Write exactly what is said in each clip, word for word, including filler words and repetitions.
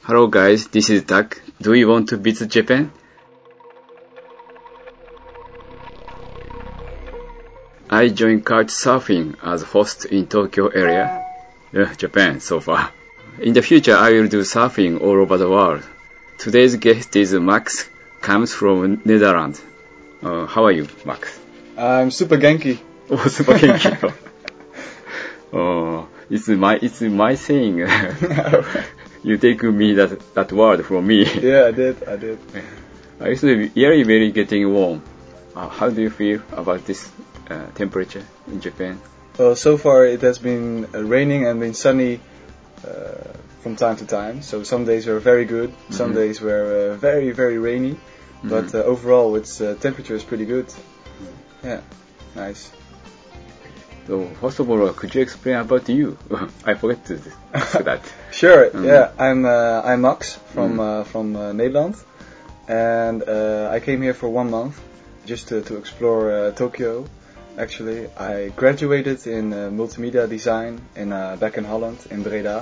Hello guys, this is Tak. Do you want to visit Japan? I joined Couchsurfing as host in Tokyo area, uh, Japan so far. In the future, I will do surfing all over the world. Today's guest is Max, comes from Netherlands. Uh, how are you, Max? I'm super Genki. Oh, super Genki. Oh, it's my it's my saying. You take me that that word from me. Yeah, I did. I did. It's really very getting warm. Uh, how do you feel about this uh, temperature in Japan? Well, so far it has been uh, raining and been sunny uh, from time to time. So some days were very good, some mm-hmm. days were uh, very very rainy. Mm-hmm. But uh, overall, its uh, temperature is pretty good. Mm-hmm. Yeah, nice. So first of all, could you explain about you? I forgot to ask that. Sure. Mm. Yeah, I'm uh, I'm Max from mm. uh, from uh, Nederland, and uh, I came here for one month just to, to explore uh, Tokyo. Actually, I graduated in uh, multimedia design in uh, back in Holland in Breda,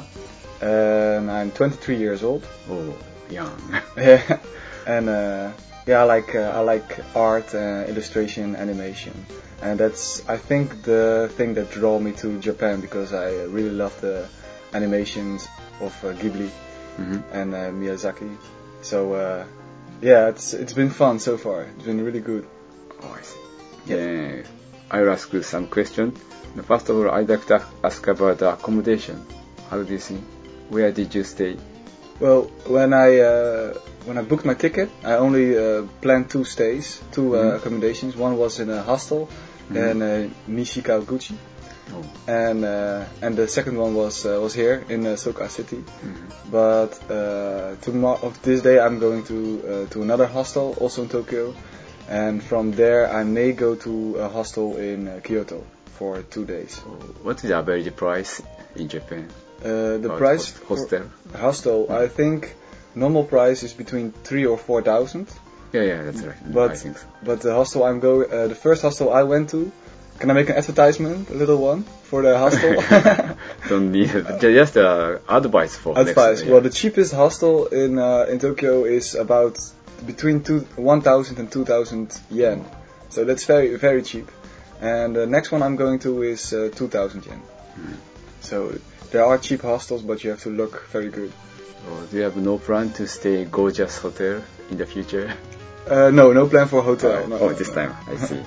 and I'm twenty-three years old. Oh, young. Yeah, and uh, yeah, I like uh, I like art, uh, illustration, animation. And that's, I think, the thing that drew me to Japan, because I really love the animations of uh, Ghibli mm-hmm. and uh, Miyazaki. So, uh, yeah, it's it's been fun so far. It's been really good. Oh, I see. Yeah. yeah. I'll ask you some questions. First of all, I'd like to ask about the accommodation. How do you think? Where did you stay? Well, when I uh, when I booked my ticket, I only uh, planned two stays, two uh, mm-hmm. accommodations. One was in a hostel mm-hmm. in uh, Nishikaguchi, oh. and uh, and the second one was uh, was here in uh, Soka City. Mm-hmm. But uh, tomorrow of this day, I'm going to uh, to another hostel, also in Tokyo, and from there I may go to a hostel in uh, Kyoto for two days. Oh, what is the average price in Japan? Uh, the price host- hostel for hostel, mm. I think normal price is between three or four thousand. Yeah, yeah, that's right. But I think so. but the hostel I'm going, uh, the first hostel I went to. Can I make an advertisement, a little one, for the hostel? Don't need it. Just uh, advice for advice. Next, yeah. Well, the cheapest hostel in uh, in Tokyo is about between two one thousand and two thousand yen. So that's very very cheap. And the next one I'm going to is uh, two thousand yen. Mm. So. There are cheap hostels, but you have to look very good. Oh, do you have no plan to stay gorgeous hotel in the future? Uh, no, no plan for a hotel. Oh, no, oh no, this no. time, I see.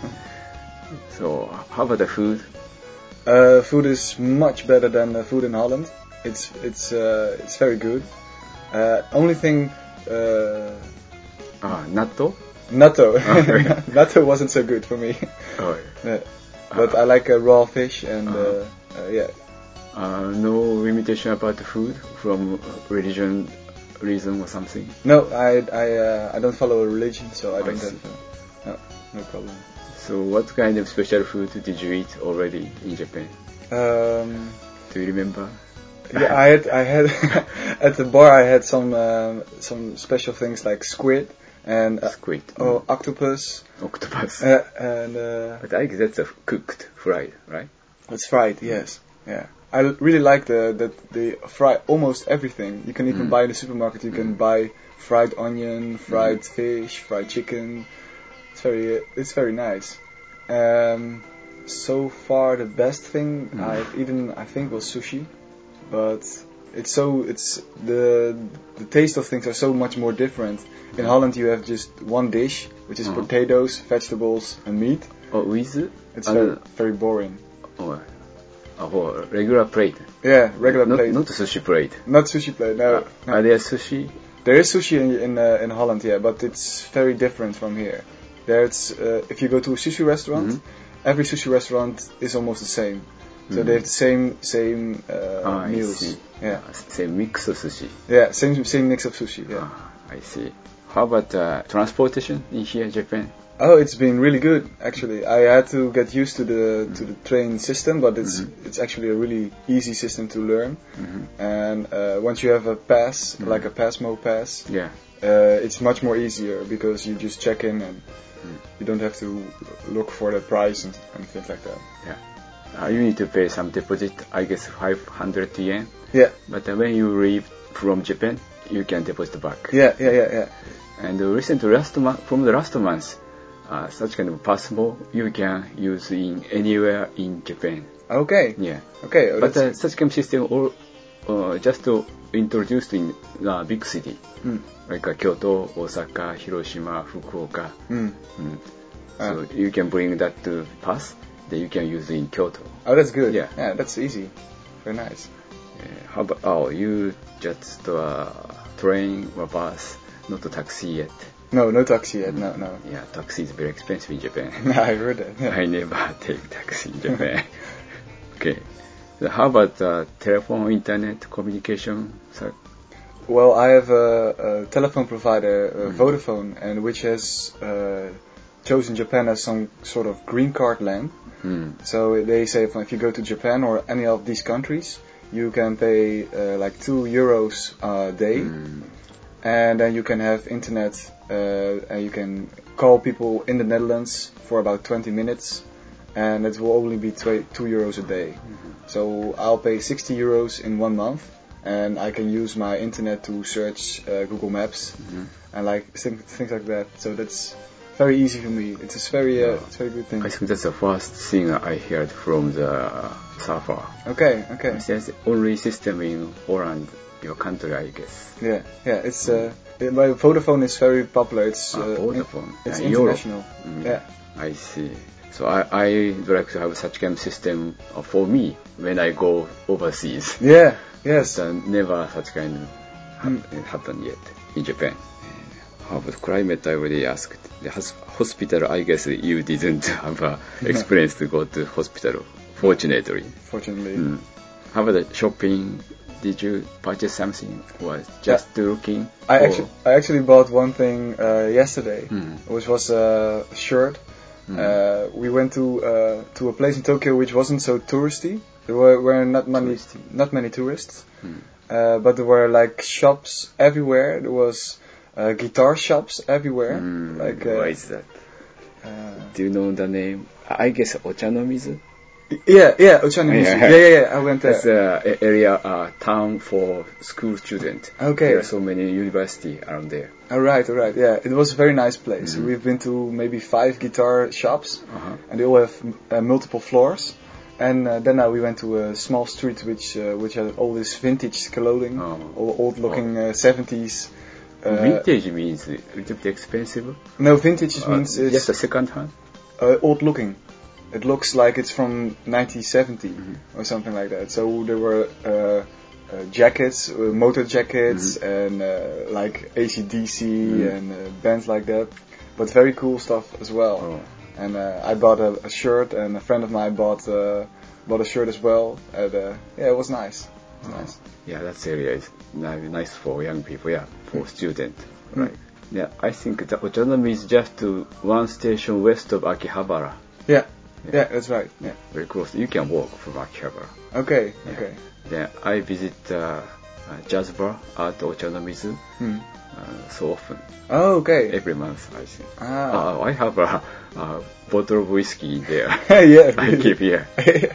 So, how about the food? Uh, food is much better than the food in Holland. It's it's uh, it's very good. Uh, only thing. Uh, ah, natto. Natto. Oh, natto wasn't so good for me. Oh, yeah. But uh, I like uh, raw fish and uh-huh. uh, yeah. Uh, no limitation about the food from religion, reason or something? No, I I uh, I don't follow a religion, so I oh, don't I have uh, no no problem. So, what kind of special food did you eat already in Japan? Um, Do you remember? Yeah, I had I had at the bar I had some um, some special things like squid and uh, squid, oh, octopus. Octopus. Uh, and uh, but I guess that's a cooked, fried, right? It's fried, yes. Yeah. I really like the that they fry almost everything. You can even mm. buy in the supermarket. You mm. can buy fried onion, fried mm. fish, fried chicken. It's very it's very nice. Um, so far the best thing mm. I've eaten I think was sushi, but it's so it's the the taste of things are so much more different. In mm. Holland you have just one dish, which is uh-huh. potatoes, vegetables, and meat. Oh, with it? It's uh, very very boring. Oh. Oh, regular plate. Yeah, regular not, plate. Not a sushi plate. Not sushi plate. No. Uh, no. Are there sushi? There is sushi in in, uh, in Holland, yeah, but it's very different from here. There's uh, if you go to a sushi restaurant, mm-hmm. every sushi restaurant is almost the same. So mm-hmm. they have the same same uh, ah, meals. I see. Yeah. Uh, same mix of sushi. Yeah, same same mix of sushi. Yeah. Ah, I see. How about uh, transportation in here in Japan? Oh, it's been really good actually. I had to get used to the mm-hmm. to the train system, but it's mm-hmm. it's actually a really easy system to learn. Mm-hmm. And uh, once you have a pass, mm-hmm. like a Passmo pass, yeah, uh, it's much more easier because you just check in and mm-hmm. you don't have to look for the price and, and things like that. Yeah, uh, you need to pay some deposit. I guess five hundred yen. Yeah. But uh, when you leave from Japan, you can deposit back. Yeah, yeah, yeah, yeah. And recently, last month, from the last month, uh, such kind of passmore you can use in anywhere in Japan. Okay. Yeah. Okay. Oh, But uh, that's- such kind of system all, uh, just uh, introduced in uh, big city, Mm. like uh, Kyoto, Osaka, Hiroshima, Fukuoka. Mm. Mm. Ah. So you can bring that to pass, then you can use it in Kyoto. Oh, that's good. Yeah. Yeah, that's easy. Very nice. Uh, how about, oh, you just uh, train or bus, not a taxi yet. No, no taxi yet. No, no. Yeah, taxi is very expensive in Japan. I heard that. Yeah. I never take taxi in Japan. Okay. So how about uh, telephone, internet, communication? So, Well, I have a, a telephone provider, uh, Vodafone, and which has uh, chosen Japan as some sort of green card land. mm, So they say if you go to Japan or any of these countries, you can pay uh, like two euros a day, mm, and then you can have internet, uh, and you can call people in the Netherlands for about twenty minutes, and it will only be tw- two euros a day. So I'll pay sixty euros in one month, and I can use my internet to search uh, Google Maps mhm. and like things, things like that. So that's very easy for me. It's a very, uh, Yeah. it's a very good thing. I think that's the first thing I heard from the surfer. Okay, okay. That's the only system in Holland, your country, I guess. Yeah, yeah. It's uh, it, my Vodafone is very popular. It's Ah, uh, Vodafone. in- it's Yeah, Europe. international. Mm, Yeah. I see. So I I would like to have such kind of system uh, for me when I go overseas. Yeah. Yes. But, uh, never such kind of hap- happened yet in Japan. How about climate? I already asked. The hos- hospital, I guess you didn't have a experience to go to hospital, fortunately. Fortunately. Mm. How about the shopping? Did you purchase something or just looking? I for- actually, I actually bought one thing uh, yesterday, Mm. which was a shirt. Mm. Uh, we went to uh, to a place in Tokyo which wasn't so touristy. There were, were not many Touristy. not many tourists, Mm. uh, but there were like shops everywhere. There was uh, guitar shops everywhere. Mm, Like uh, why is that? uh, Do you know the name? I guess Ochanomizu. yeah, yeah, Ochanomizu. Yeah. Yeah, yeah, yeah. I went there. That's a area, uh, town for school students. Okay. There are so many university around there. All right, all right. Yeah, it was a very nice place. Mhm. We've been to maybe five guitar shops, Uh-huh. and they all have uh, multiple floors. And uh, then uh, we went to a small street which uh, which had all this vintage clothing, Oh. all old-looking uh, seventies. Uh, Vintage means a little bit expensive. No, vintage just Uh, means it's just a second hand. uh, old-looking. It looks like it's from nineteen seventy Mhm. or something like that. So there were uh, uh, jackets, uh, motor jackets, and uh, like A C D C Mhm. and uh, bands like that. But very cool stuff as well. Oh. And uh, I bought a, a shirt, and a friend of mine bought uh, bought a shirt as well. And uh, yeah, it was nice. It was nice. Yeah, that area is ni- nice for young people. Yeah, for students. Mm. Right. Yeah, I think the Ochanomizu is just to one station west of Akihabara. Yeah. Yeah. Yeah, that's right. Yeah. Very close. You can walk from Akihabara. Okay. Yeah. Okay. Then I visit uh, a jazz bar at Ochanomizu Hmm. uh, so often. Oh, okay. Every month, I think. Ah. Uh, I have a, a bottle of whiskey there. Yeah. I keep here. Yeah,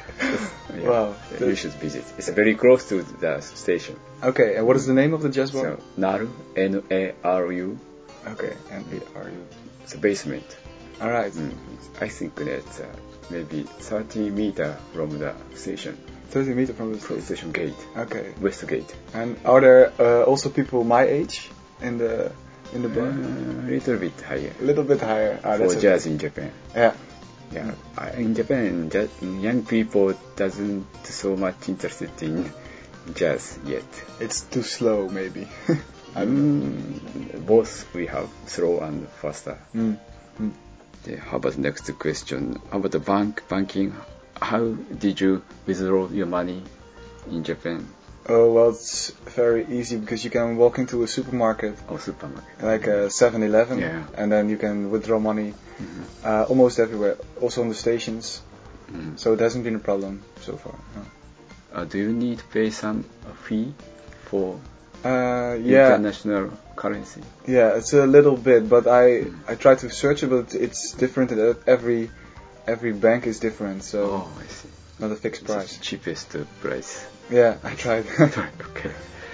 Wow. yeah, you should visit. It's very close to the station. Okay. And what is the name of the jazz bar? So, Naru, N A R U, Okay. N A R U. it's a basement. All right. Mm. I think that's uh, maybe thirty meter from the station, thirty meters from the from the station. station gate, Okay. west gate. And are there uh, also people my age in the in the bar? A little bit higher A little bit higher. Ah, for that's okay. jazz in Japan. Yeah. Yeah, I- in Japan, ja- young people doesn't so much interested in jazz yet. It's too slow, maybe. I don't know. Mm, both we have slow and faster. Mm. Mm. Okay, how about the next question? How about the bank banking? How did you withdraw your money in Japan Oh, well, it's very easy because you can walk into a supermarket, or supermarket? like a seven eleven, Yeah. and then you can withdraw money Mhm. uh, almost everywhere, also on the stations. Mm. So it hasn't been a problem so far. No. Uh, do you need to pay some uh, fee for Uh, yeah, international currency? yeah, it's a little bit, but I Mm. I tried to search it, but it's different. at Every every bank is different, so Oh, I see. not a fixed It's price. the cheapest uh, price. Yeah, I tried. Okay.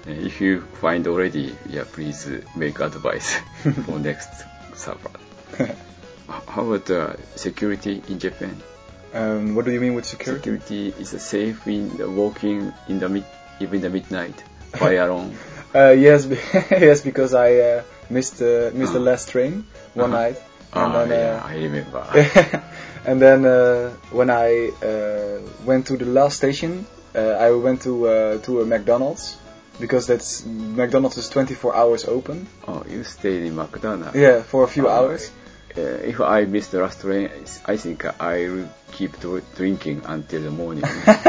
If you find already, yeah, please uh, make advice for next surfer. How about uh, security in Japan? Um, what do you mean with security? Security is uh, safe in the walking in the mid, even the midnight, by alone. Uh, yes, be- yes, because I uh, missed uh, missed the Uh-huh. last train one Uh-huh. night, and Ah, then yeah, uh, I remember. and then uh, when I uh, went to the last station, uh, I went to uh, to a McDonald's because that's McDonald's is twenty-four hours open. Oh, you stayed in McDonald's. Yeah, for a few Oh, hours. Uh, if I miss the last train, I think I will keep dr- drinking until the morning.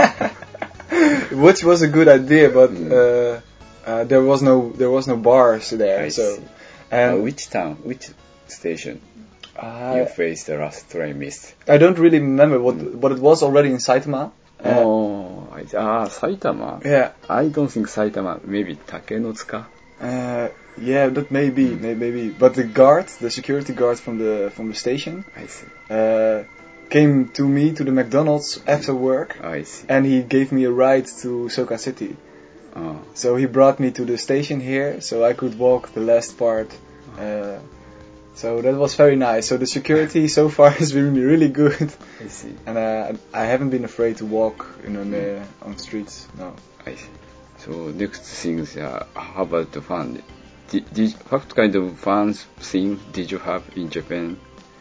Which was a good idea, but Mm. uh, uh, there was no there was no bars there. I so, see. and uh, which town, which station uh, you faced the last train missed? I don't really remember what, but it was already in Saitama. Uh, Oh, I, ah, Saitama. Yeah. I don't think Saitama. Maybe Takenotsuka. Uh, yeah, that may be, Mm. may, maybe. But the guard, the security guard from the from the station, I see. uh, came to me to the McDonald's after work, I see. and he gave me a ride to Soka City. Oh, So he brought me to the station here, so I could walk the last part. Uh, so that was very nice. So the security so far has been really good, I see. and uh, I haven't been afraid to walk in on the on streets. No. I see. So next things, uh, how about the fun? Did, did, what kind of fun things did you have in Japan?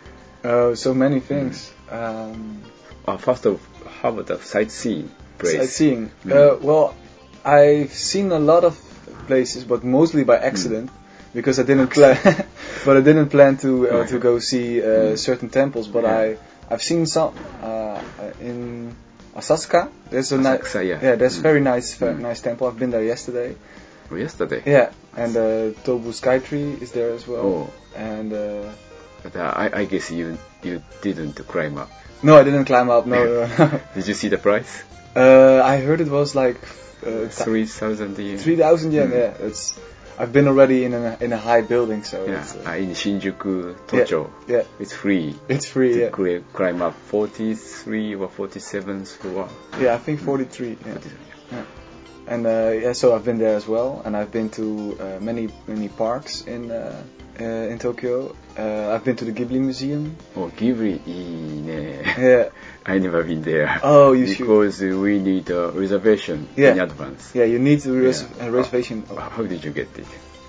Uh, so many things. Um, Uh, first of, how about the sightseeing place? Sightseeing. Mm. Uh, well, I've seen a lot of places, but mostly by accident, because I didn't plan. But I didn't plan to uh, Oh, to yeah. go see uh, Mm. certain temples. But Yeah. I I've seen some uh, in Asakusa. There's a nice Asakusa, yeah. yeah. There's Mm. very nice very Mm. nice temple. I've been there yesterday. Oh, yesterday? Yeah, and uh, Tobu Sky Tree is there as well. Oh. And uh, But uh, I, I guess you you didn't climb up. no, I didn't climb up. No, no. Did you see the price? uh, I heard it was like uh, Three thousand yen. Three thousand yen, Mm. yeah. It's I've been already in a in a high building, so Yeah, it's, uh, uh, in Shinjuku, Tocho. yeah, It's free. it's free. To Yeah, cli- climb up forty-three or forty-seventh floor. yeah. I think forty-three. Yeah. forty-three. Yeah. And uh, yeah, so I've been there as well, and I've been to uh, many many parks in uh, uh, in Tokyo. Uh, I've been to the Ghibli Museum. Oh, Ghibli, いいね. Yeah. I never been there. Oh, you should. Because we need a reservation Yeah. in advance. Yeah, you need a, res- Yeah. a reservation. Uh, How did you get it?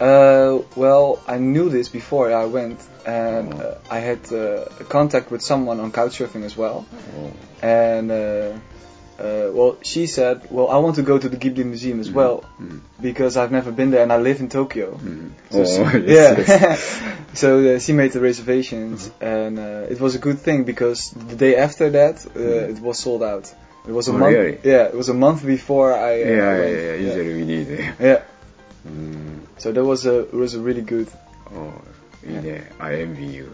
Uh, well, I knew this before I went, and Oh. uh, I had uh, contact with someone on Couchsurfing as well. Oh. And uh, uh, well, she said, well, I want to go to the Ghibli Museum as well, Mm. because I've never been there and I live in Tokyo. Mm. So Oh, she, yes, yeah. yes. So uh, she made the reservations, and uh, it was a good thing because the day after that, uh, Mm. it was sold out. It was a Oh, month. really? Yeah, it was a month before I. Uh, Yeah, yeah, went. yeah, usually we need it. Yeah. Mm. So that was a it was a really good. Oh, いいね. I envy you.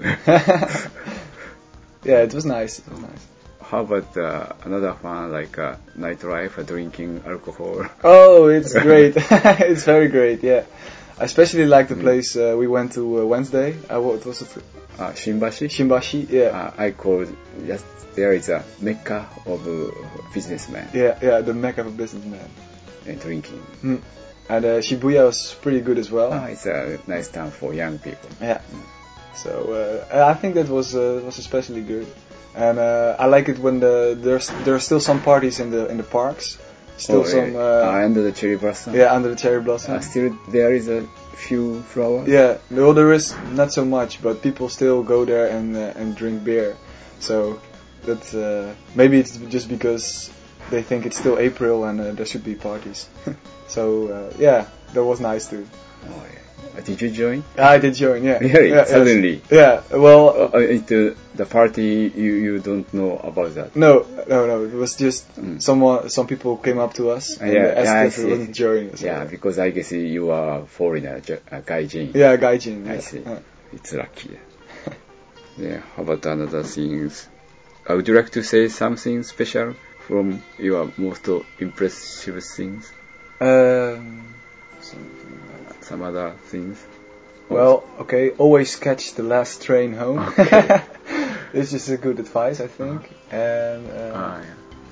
Yeah, it was nice. It was nice. How about uh, another fun like uh, nightlife, uh, drinking alcohol? Oh, it's great. It's very great. Yeah, I especially like the Mm. place uh, we went to uh, Wednesday. Uh, what was it? Uh, Shimbashi? Shimbashi. Yeah. Uh, I call just there is a mecca of uh, businessmen Yeah, yeah, the mecca of businessmen. and drinking. Mm. And uh, Shibuya was pretty good as well. Ah, it's a nice town for young people. Yeah. So uh, I think that was uh, was especially good, and uh, I like it when the there's there are still some parties in the in the parks, still Oh, some yeah. uh, uh, under the cherry blossom. yeah under the cherry blossom. Uh, still there is a few flowers. Yeah, no, there is not so much, but people still go there and uh, and drink beer. So that's uh, maybe it's just because they think it's still April and uh, there should be parties. So uh, yeah, that was nice too. Oh, yeah. Uh, did you join? I did join. Yeah. Really? Yeah, yes. Suddenly? Yeah. Well. Uh, into the party, you, you don't know about that. No, no, no. It was just Mm. someone. Some people came up to us and Yeah, asked yeah, I if we see. wanted to join. So, Yeah, because I guess you are a foreigner, ju- a gaijin. yeah, gaijin. I Yeah. see. Yeah. It's lucky. Yeah, how about another things? Uh, would you like to say something special from your most impressive things? Um, something like- Some other things? well, okay. Always catch the last train home. Okay. This is a good advice, I think. And uh, Ah, yeah.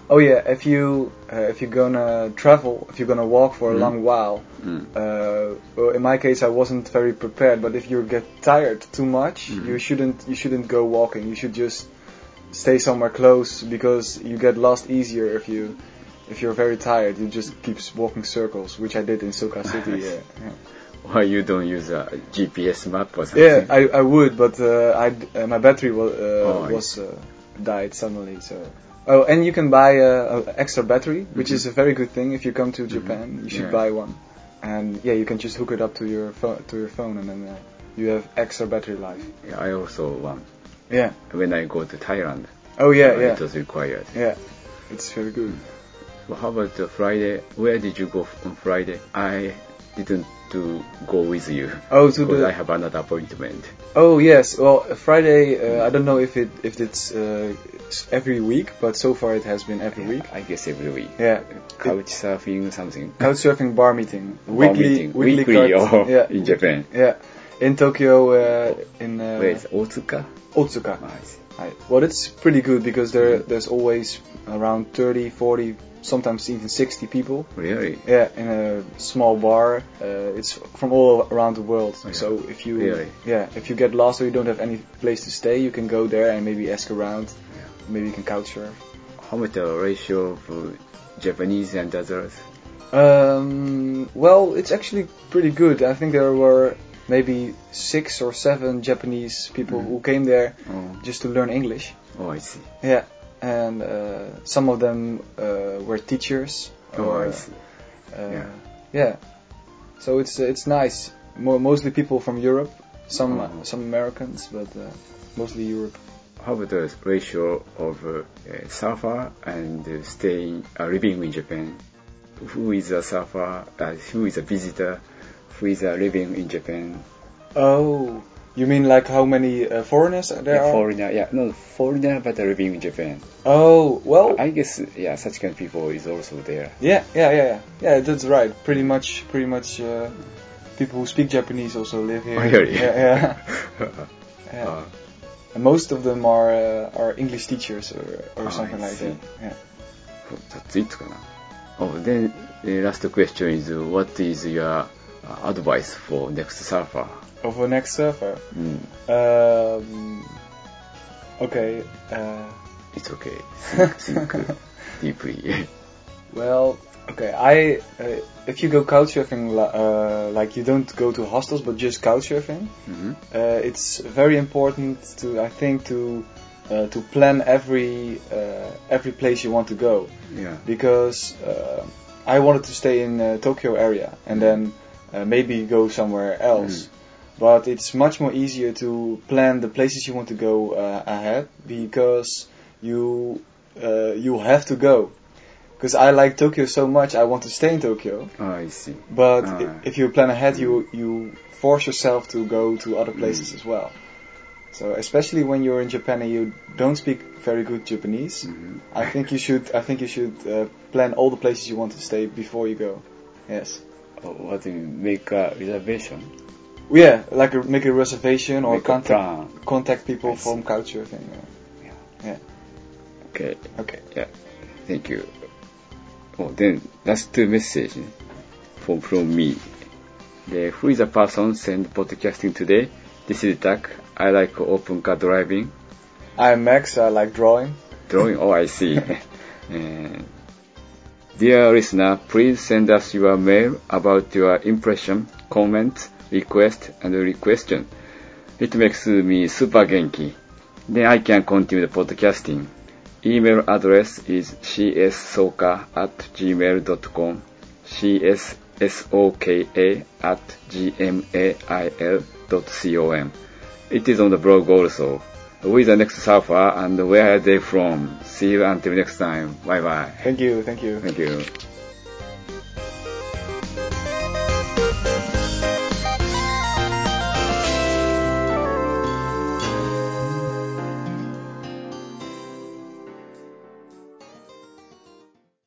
Oh yeah, if you uh, if you're gonna travel, if you're gonna walk for a Mm. long while, Mm. uh, well, in my case, I wasn't very prepared. But if you get tired too much, Mhm. you shouldn't you shouldn't go walking. You should just stay somewhere close because you get lost easier if you if you're very tired. You just keep walking circles, which I did in Soka City. Yeah, yeah. Why you don't use a G P S map or something? Yeah, I, I would, but uh, I uh, my battery was uh, Oh, I was uh, died suddenly. So oh, and you can buy a, a extra battery, which Mhm. is a very good thing. If you come to Japan, you should Yeah. buy one. And yeah, you can just hook it up to your phone to your phone, and then uh, you have extra battery life. Yeah, I also one. Yeah. When I go to Thailand, Oh yeah, uh, yeah, it was required. yeah. It's very good. Well, how about uh, Friday? Where did you go on Friday? I didn't to go with you Oh, to because the I have another appointment. oh yes. Well, Friday. Uh, I don't know if it if it's uh, s- every week, but so far it has been every week. I guess every week. Yeah. Couch surfing, something. Couchsurfing bar meeting. Bar weekly, meeting. weekly, Weekly, couch- oh, yeah, in Japan. Yeah, in Tokyo, uh, in uh, Where is Otsuka? Otsuka. Oh, I see. Right. Well, it's pretty good because there Mhm. there's always around thirty, forty, sometimes even sixty people. Really? Yeah, in a small bar. Uh, it's from all around the world. Oh, yeah. So if you Really? yeah, if you get lost or you don't have any place to stay, you can go there and maybe ask around. Yeah. Maybe you can couch surf. How much the ratio of uh, Japanese and others? Um, well, it's actually pretty good. I think there were maybe six or seven Japanese people Mm. who came there Oh, just to learn English. oh I see. Yeah, and uh, some of them uh, were teachers. Oh, or, I see. Uh, Yeah. yeah. So it's it's nice. Mo- mostly people from Europe, some Oh. some Americans, but uh, mostly Europe. How about the ratio of uh, uh, surfer and uh, staying, uh, living in Japan? Who is a surfer? Uh, who is a visitor? Who is uh, living in Japan? Oh, you mean like how many uh, foreigners there Yeah, are? foreigner, yeah, no, foreigner but uh, living in Japan. Oh, well, I guess, yeah, such kind of people is also there. yeah, yeah, yeah, yeah. Yeah, that's right. Pretty much, pretty much. Uh, people who speak Japanese also live here. Oh, really? Yeah, yeah. yeah. Uh, And most of them are uh, are English teachers or or Ah, something I like see. that. Yeah. that's it かな. Oh, then the last question is, uh, what is your uh, advice for next surfer? Of a next surfer. Mm, Um, okay. Uh, it's okay. Think, think uh, deeply. well, okay. I uh, if you go couchsurfing, li- uh, like you don't go to hostels, but just couchsurfing. Mhm. Uh, it's very important to, I think, to uh, to plan every uh, every place you want to go, Yeah. because uh, I wanted to stay in uh, Tokyo area and then uh, maybe go somewhere else. But it's much more easier to plan the places you want to go uh, ahead, because you uh, you have to go. Because I like Tokyo so much, I want to stay in Tokyo. Oh, I see. But Ah. i- if you plan ahead, you you force yourself to go to other places Mm. as well. So especially when you're in Japan and you don't speak very good Japanese, Mhm. I think you should I think you should uh, plan all the places you want to stay before you go. Yes. Oh, what do you make a reservation? Yeah, like a, make a reservation or Make a contact plan. contact people I from see. couchsurfing. Okay. Okay. Yeah. Thank you. Oh, then last two messages from from me. The, who is the person sent podcasting today? This is Tak. I like open car driving. I'm Max. I like drawing. Drawing. Oh, I see. And dear listener, please send us your mail about your impression, comment, request, and question. It makes me super genki. Then I can continue the podcasting. Email address is c s soka at gmail dot com, cssoka at gmail dot com. It is on the blog also. Who is the next surfer and where are they from? See you until next time. Bye bye. Thank you. Thank you. Thank you.